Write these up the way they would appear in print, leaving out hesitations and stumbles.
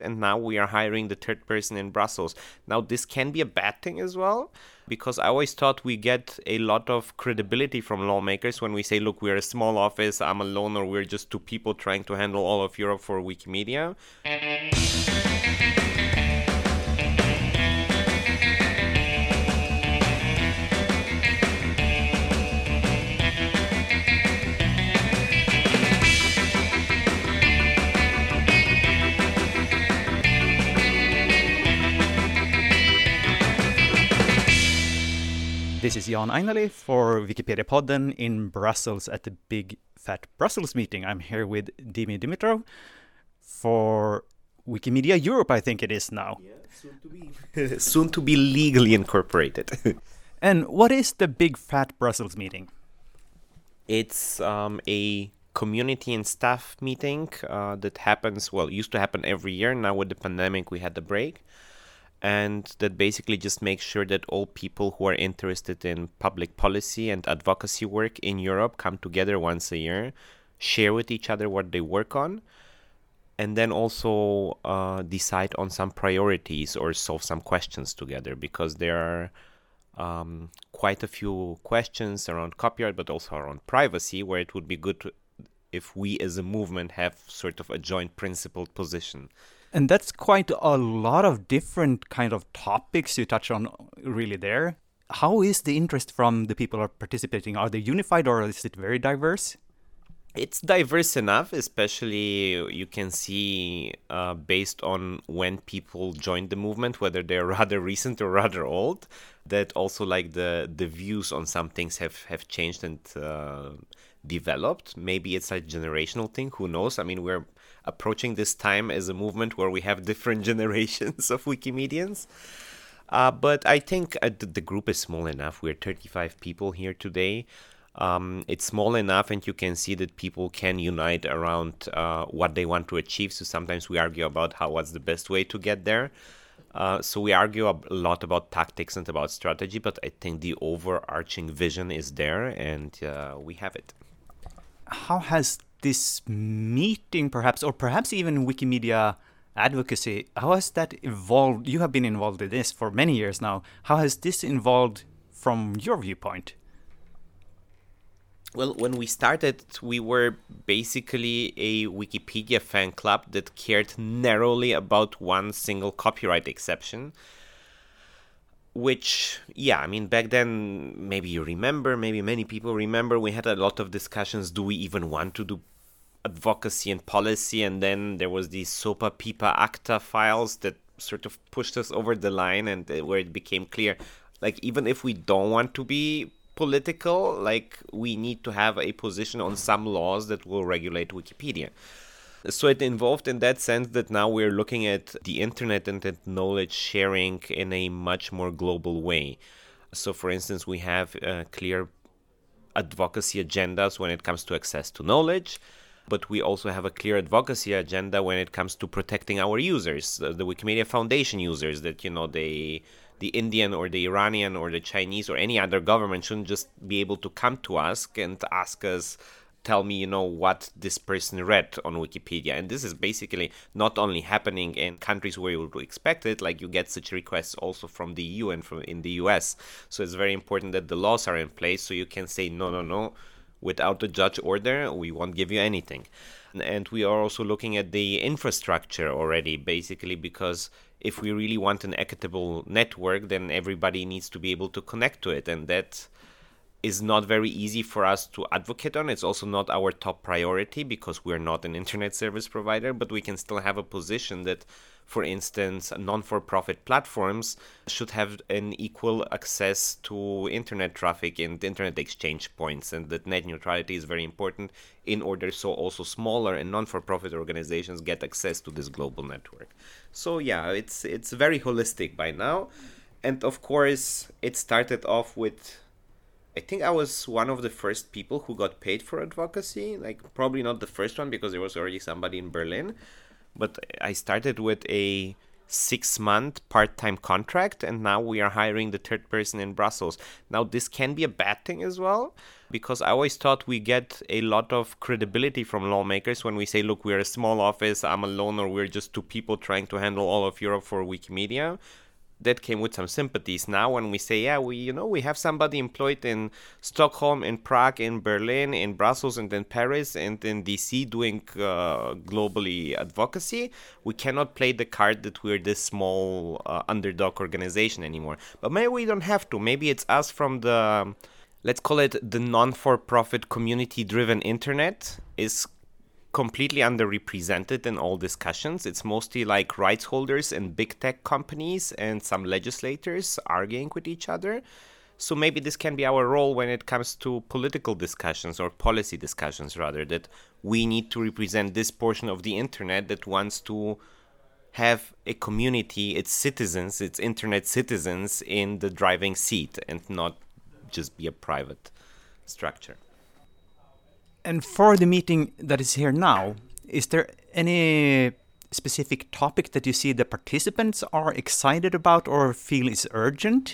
and now we are hiring the third person in Brussels. Now, this can be a bad thing as well, because I always thought we get a lot of credibility from lawmakers when we say, look, we're a small office, I'm alone, or we're just two people trying to handle all of Europe for Wikimedia. This is Jan Ainali for Wikipedia Podden in Brussels at the Big Fat Brussels meeting. I'm here with Dimi Dimitrov for Wikimedia Europe, I think it is now. Yeah, soon to be legally incorporated. And what is the Big Fat Brussels meeting? It's a community and staff meeting that happens, used to happen every year. Now with the pandemic, we had the break. And that basically just makes sure that all people who are interested in public policy and advocacy work in Europe come together once a year, share with each other what they work on, and then also decide on some priorities or solve some questions together, because there are quite a few questions around copyright, but also around privacy, where it would be good if we as a movement have sort of a joint principled position. And that's quite a lot of different kind of topics you touch on really there. How is the interest from the people who are participating? Are they unified or is it very diverse? It's diverse enough, especially you can see based on when people joined the movement, whether they're rather recent or rather old, that also like the views on some things have changed and developed. Maybe it's a generational thing, who knows? I mean, we're approaching this time as a movement where we have different generations of Wikimedians. But I think the group is small enough. We're 35 people here today. It's small enough, and you can see that people can unite around what they want to achieve. So sometimes we argue about what's the best way to get there. So we argue a lot about tactics and about strategy, but I think the overarching vision is there, and we have it. How has this meeting perhaps, or perhaps even Wikimedia advocacy, how has that evolved? You have been involved in this for many years now. How has this evolved from your viewpoint? Well, when we started, we were basically a Wikipedia fan club that cared narrowly about one single copyright exception. Which, I mean, back then, maybe you remember, maybe many people remember, we had a lot of discussions. Do we even want to do advocacy and policy? And then there was the SOPA PIPA ACTA files that sort of pushed us over the line, and where it became clear, like, even if we don't want to be political, like, we need to have a position on some laws that will regulate Wikipedia. So it involved in that sense that now we're looking at the internet and at knowledge sharing in a much more global way. So for instance, we have clear advocacy agendas when it comes to access to knowledge, but we also have a clear advocacy agenda when it comes to protecting our users, the Wikimedia Foundation users, that, the Indian or the Iranian or the Chinese or any other government shouldn't just be able to come to us and ask us, tell me, what this person read on Wikipedia. And this is basically not only happening in countries where you would expect it, like you get such requests also from the EU and from in the US. So it's very important that the laws are in place so you can say, no, without a judge order, we won't give you anything. And we are also looking at the infrastructure already, basically, because if we really want an equitable network, then everybody needs to be able to connect to it. And that is not very easy for us to advocate on. It's also not our top priority because we're not an internet service provider, but we can still have a position that, for instance, non-for-profit platforms should have an equal access to internet traffic and internet exchange points, and that net neutrality is very important in order so also smaller and non-for-profit organizations get access to this global network. So it's very holistic by now. And of course, it started off with, I think I was one of the first people who got paid for advocacy, like probably not the first one because there was already somebody in Berlin, but I started with a 6-month part-time contract, and now we are hiring the third person in Brussels. Now, this can be a bad thing as well, because I always thought we get a lot of credibility from lawmakers when we say, look, we're a small office, I'm alone, or we're just two people trying to handle all of Europe for Wikimedia. That came with some sympathies. Now when we say, yeah, we have somebody employed in Stockholm, in Prague, in Berlin, in Brussels, and in Paris, and in DC doing globally advocacy, we cannot play the card that we're this small underdog organization anymore. But maybe we don't have to. Maybe it's us from the, let's call it the non-for-profit community-driven internet is completely underrepresented in all discussions. It's mostly like rights holders and big tech companies and some legislators arguing with each other. So maybe this can be our role when it comes to political discussions or policy discussions, rather, that we need to represent this portion of the internet that wants to have a community, its citizens, its internet citizens in the driving seat and not just be a private structure. And for the meeting that is here now, is there any specific topic that you see the participants are excited about or feel is urgent?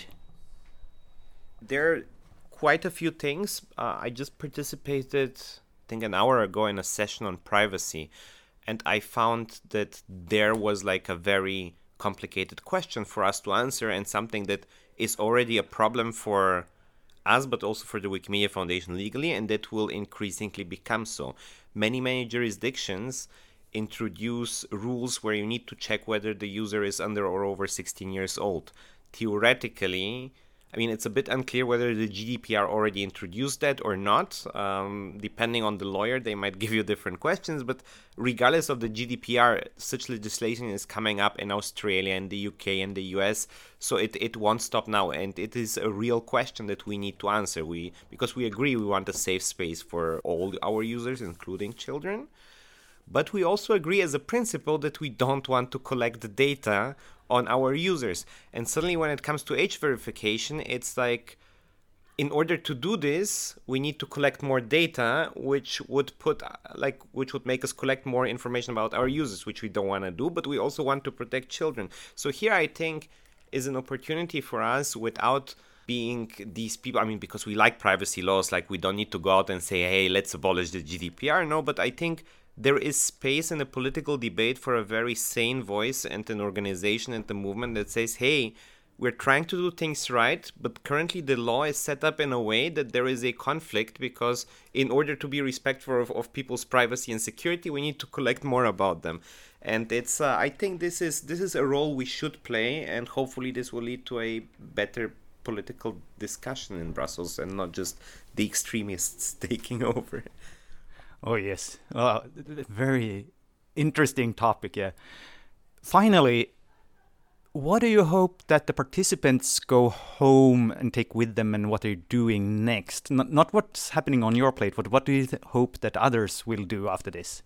There are quite a few things. I just participated, I think an hour ago, in a session on privacy, and I found that there was like a very complicated question for us to answer, and something that is already a problem for us, but also for the Wikimedia Foundation legally, and that will increasingly become so. Many jurisdictions introduce rules where you need to check whether the user is under or over 16 years old. Theoretically, I mean, it's a bit unclear whether the GDPR already introduced that or not. Depending on the lawyer, they might give you different questions, but regardless of the GDPR, such legislation is coming up in Australia and the UK and the US, so it won't stop now, and it is a real question that we need to answer. Because we agree we want a safe space for all our users, including children, but we also agree as a principle that we don't want to collect the data on our users. And suddenly when it comes to age verification, it's like, in order to do this, we need to collect more data, which would make us collect more information about our users, which we don't want to do, but we also want to protect children. So here I think is an opportunity for us, without being these people, I mean, because we like privacy laws, like we don't need to go out and say, hey, let's abolish the GDPR. No, but I think there is space in a political debate for a very sane voice and an organization and a movement that says, hey, we're trying to do things right, but currently the law is set up in a way that there is a conflict, because in order to be respectful of people's privacy and security, we need to collect more about them. And it's I think this is a role we should play, and hopefully this will lead to a better political discussion in Brussels and not just the extremists taking over. Oh, yes. Very interesting topic, yeah. Finally, what do you hope that the participants go home and take with them, and what they're doing next? Not what's happening on your plate, but what do you hope that others will do after this?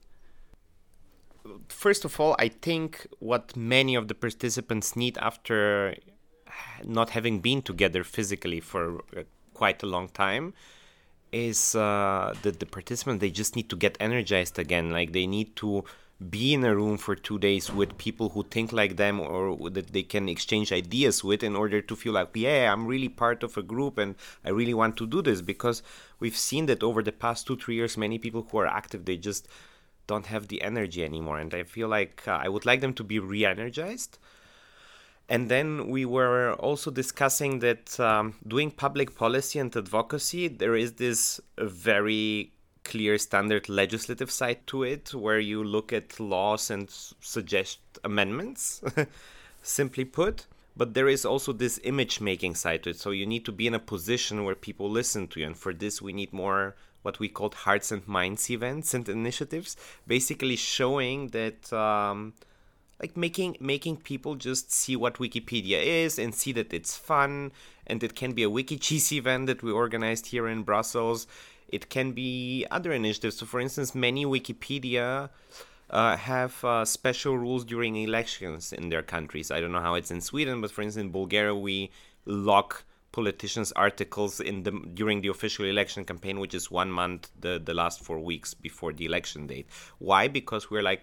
First of all, I think what many of the participants need after not having been together physically for quite a long time is that the participants, they just need to get energized again. Like, they need to be in a room for 2 days with people who think like them, or that they can exchange ideas with, in order to feel like, yeah, I'm really part of a group and I really want to do this. Because we've seen that over the past 2-3 years, many people who are active, they just don't have the energy anymore. And I feel like I would like them to be re-energized. And then we were also discussing that doing public policy and advocacy, there is this very clear standard legislative side to it, where you look at laws and suggest amendments, simply put. But there is also this image-making side to it. So you need to be in a position where people listen to you. And for this, we need more what we called hearts and minds events and initiatives, basically showing that like making people just see what Wikipedia is and see that it's fun, and it can be a WikiCheese event that we organized here in Brussels. It can be other initiatives. So, for instance, many Wikipedia have special rules during elections in their countries. I don't know how it's in Sweden, but for instance, in Bulgaria, we lock politicians' articles during the official election campaign, which is 1 month, the last 4 weeks before the election date. Why? Because we're like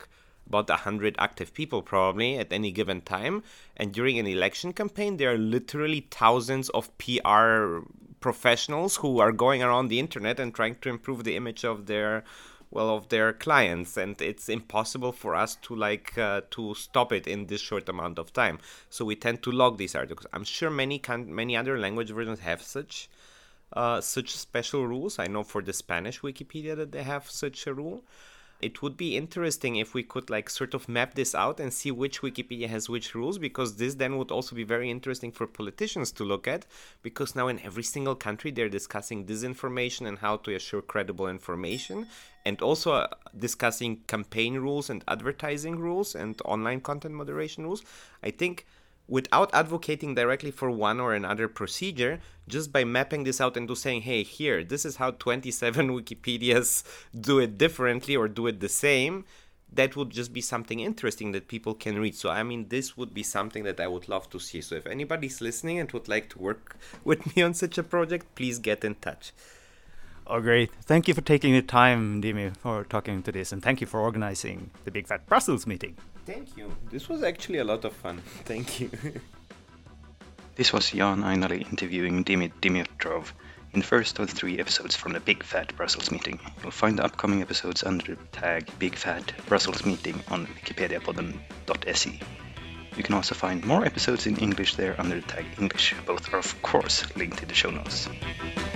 about 100 active people probably at any given time. And during an election campaign, there are literally thousands of PR professionals who are going around the internet and trying to improve the image of their clients, and it's impossible for us to stop it in this short amount of time. So we tend to log these articles. I'm sure many other language versions have such special rules. I know for the Spanish Wikipedia that they have such a rule. It would be interesting if we could sort of map this out and see which Wikipedia has which rules, because this then would also be very interesting for politicians to look at, because now in every single country they're discussing disinformation and how to assure credible information, and also discussing campaign rules and advertising rules and online content moderation rules. I think without advocating directly for one or another procedure, just by mapping this out into saying, hey, here, this is how 27 Wikipedias do it differently or do it the same, that would just be something interesting that people can read. So, I mean, this would be something that I would love to see. So if anybody's listening and would like to work with me on such a project, please get in touch. Oh, great. Thank you for taking the time, Dimi, for talking to this, and thank you for organizing the Big Fat Brussels meeting. Thank you. This was actually a lot of fun. Thank you. This was Jan Ainali interviewing Dimi Dimitrov in the first of the 3 episodes from the Big Fat Brussels meeting. You'll find the upcoming episodes under the tag Big Fat Brussels Meeting on wikipediapodden.se. You can also find more episodes in English there under the tag English. Both are of course linked in the show notes.